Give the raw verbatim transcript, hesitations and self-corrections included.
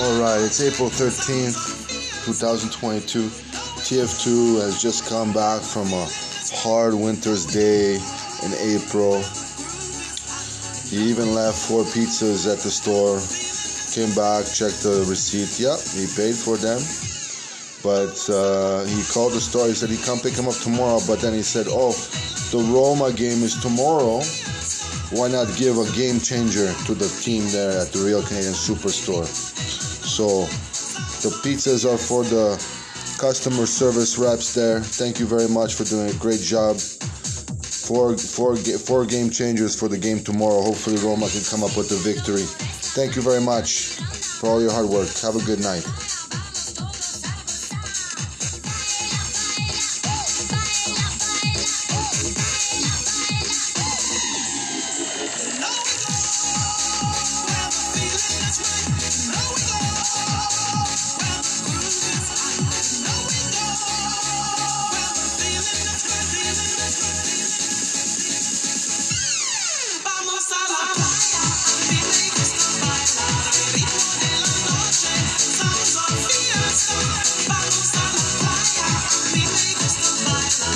Alright, it's April thirteenth, twenty twenty-two. T F two has just come back from a hard winter's day in April. He even left four pizzas at the store. Came back, checked the receipt. Yep, he paid for them. But uh, he called the store. He said he'd come pick him up tomorrow. But then he said, oh, the Roma game is tomorrow. Why not give a game changer to the team there at the Real Canadian Superstore? So the pizzas are for the customer service reps there. Thank you very much for doing a great job. Four, four, four game changers for the game tomorrow. Hopefully Roma can come up with the victory. Thank you very much for all your hard work. Have a good night.